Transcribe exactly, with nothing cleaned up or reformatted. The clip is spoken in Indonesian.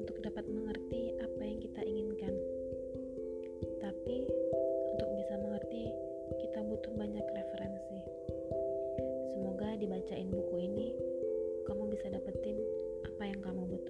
untuk dapat mengerti apa yang kita inginkan. Tapi untuk bisa mengerti, kita butuh banyak referensi. Semoga dibacain buku ini, kamu bisa dapetin apa yang kamu butuh.